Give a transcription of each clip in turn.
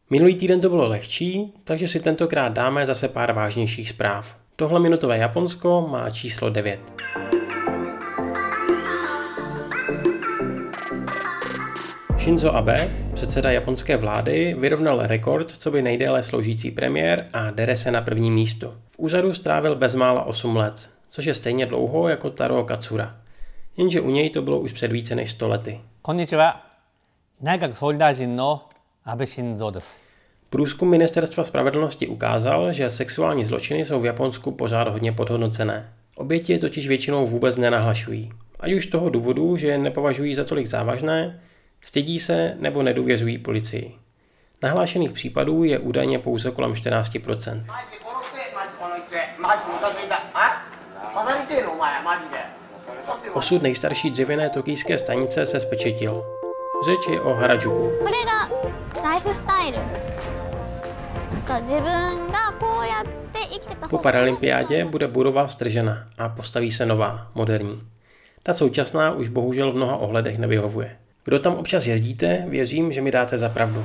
Minulý týden to bylo lehčí, takže si tentokrát dáme zase pár vážnějších zpráv. Tohle minutové Japonsko má číslo 9. Shinzo Abe, předseda japonské vlády, vyrovnal rekord coby nejdéle sloužící premiér a dere se na první místo. V úřadu strávil bezmála 8 let, což je stejně dlouho jako Taro Katsura. Jenže u něj to bylo už před více než 100 lety. Konnichiwa. Naigaku soudajin no Abe Shinzo desu. Průzkum Ministerstva spravedlnosti ukázal, že sexuální zločiny jsou v Japonsku pořád hodně podhodnocené. Oběti je totiž většinou vůbec nenahlašují. Ať už z toho důvodu, že je nepovažují za tolik závažné, stydí se nebo nedůvěřují policii. Nahlášených případů je údajně pouze kolem 14%. Osud nejstarší dřevěné tokijské stanice se zpečetil. Řeč je o Harajuku. Po paralympiádě bude budova stržena a postaví se nová, moderní. Ta současná už bohužel v mnoha ohledech nevyhovuje. Kdo tam občas jezdíte, věřím, že mi dáte za pravdu.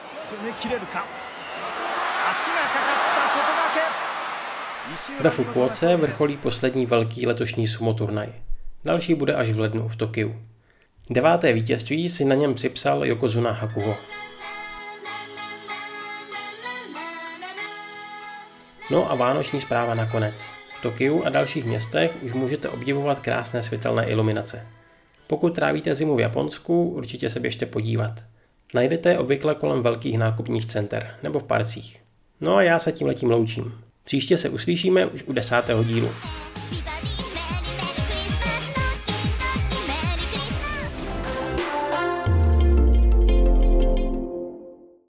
Ve Fukuoce vrcholí poslední velký letošní sumo turnaj. Další bude až v lednu v Tokiu. 9. vítězství si na něm připsal Yokozuna Hakuho. No a vánoční zpráva nakonec. V Tokiu a dalších městech už můžete obdivovat krásné světelné iluminace. Pokud trávíte zimu v Japonsku, určitě se běžte podívat. Najdete je obvykle kolem velkých nákupních center nebo v parcích. No a já se tímhletím loučím. Příště se uslyšíme už u 10. dílu.